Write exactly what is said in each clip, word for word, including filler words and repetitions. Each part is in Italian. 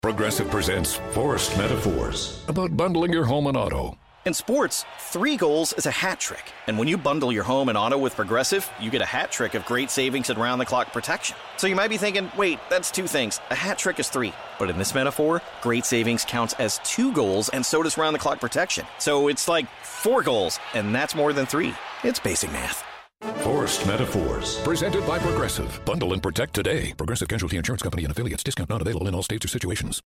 Progressive presents Forced Metaphors about bundling your home and auto. In sports, three goals is a hat trick. And when you bundle your home and auto with Progressive, you get a hat trick of great savings and round-the-clock protection. So you might be thinking, wait, that's two things. A hat trick is three. But in this metaphor, great savings counts as two goals, and so does round-the-clock protection. So it's like four goals, and that's more than three. It's basic math. Forced Metaphors, presented by Progressive. Bundle and protect today. Progressive Casualty Insurance Company and affiliates. Discount not available in all states or situations.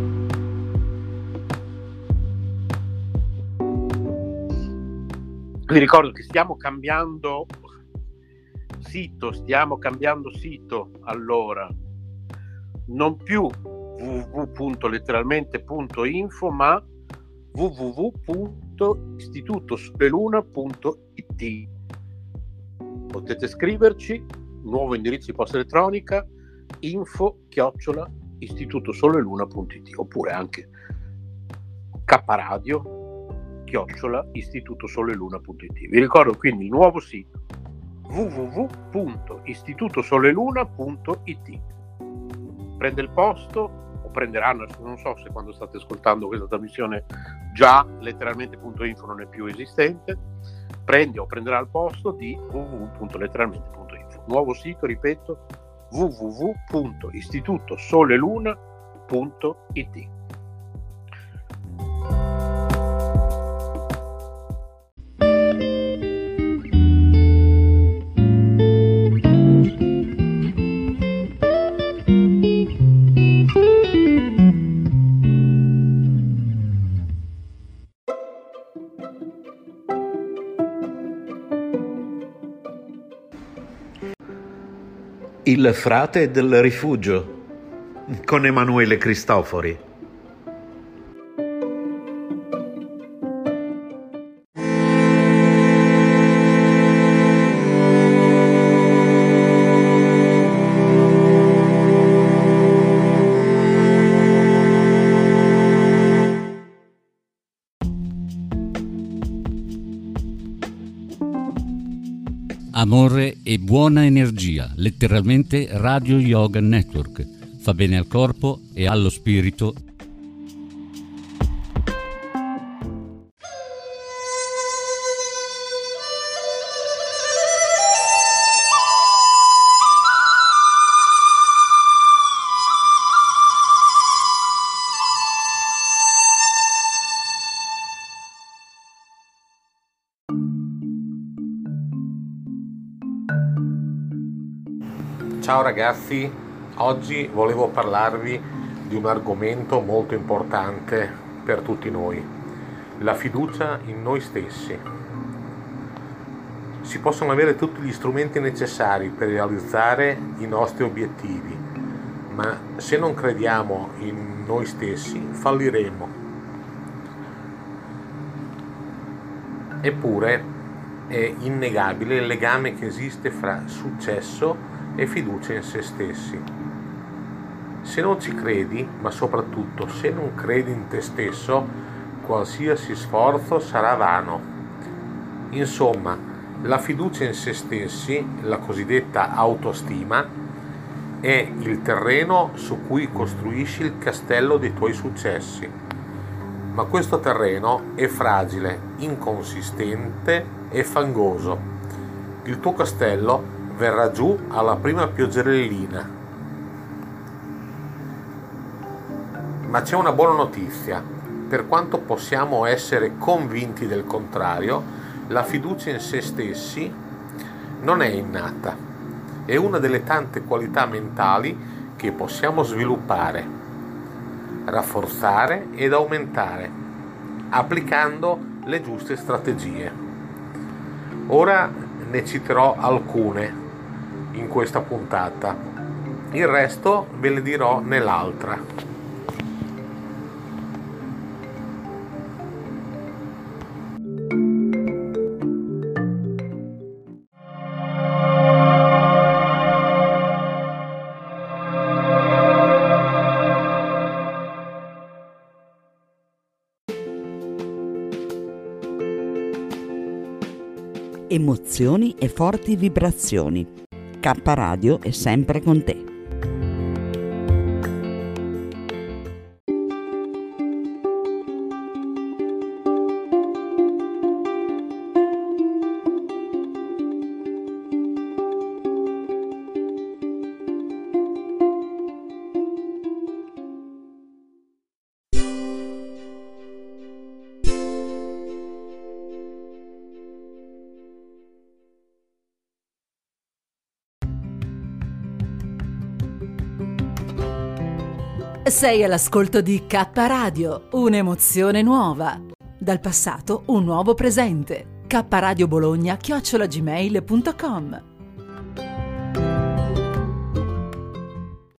Vi ricordo che stiamo cambiando sito, stiamo cambiando sito, allora non più w w w punto letteralmente punto info ma w w w punto istituto sole luna punto i t. Potete scriverci, nuovo indirizzo di posta elettronica, info chiocciola istituto sole luna punto i t, oppure anche kradio chiocciola istituto sole luna punto i t. Vi ricordo quindi il nuovo sito w w w punto istituto sole luna punto i t. Prende il posto, o prenderanno, non so se quando state ascoltando questa trasmissione già letteralmente punto info non è più esistente, prende o prenderà il posto di w w w punto letteralmente punto info. Nuovo sito, ripeto, w w w punto istituto sole luna punto i t. Il frate del rifugio con Emanuele Cristofori. Amore e buona energia, letteralmente Radio Yoga Network. Fa bene al corpo e allo spirito. Ciao ragazzi, oggi volevo parlarvi di un argomento molto importante per tutti noi, la fiducia in noi stessi. Si possono avere tutti gli strumenti necessari per realizzare i nostri obiettivi, ma se non crediamo in noi stessi falliremo. Eppure è innegabile il legame che esiste fra successo e fiducia in se stessi. Se non ci credi, ma soprattutto se non credi in te stesso, qualsiasi sforzo sarà vano. Insomma, la fiducia in se stessi, la cosiddetta autostima, è il terreno su cui costruisci il castello dei tuoi successi. Ma questo terreno è fragile, inconsistente e fangoso. Il tuo castello verrà giù alla prima pioggerellina. Ma c'è una buona notizia: per quanto possiamo essere convinti del contrario, la fiducia in se stessi non è innata, è una delle tante qualità mentali che possiamo sviluppare, rafforzare ed aumentare, applicando le giuste strategie. Ora ne citerò alcune in questa puntata, il resto ve le dirò nell'altra. Emozioni e forti vibrazioni. K Radio è sempre con te. Sei all'ascolto di K Radio, un'emozione nuova. Dal passato un nuovo presente. K Radio Bologna chiocciola gmail punto com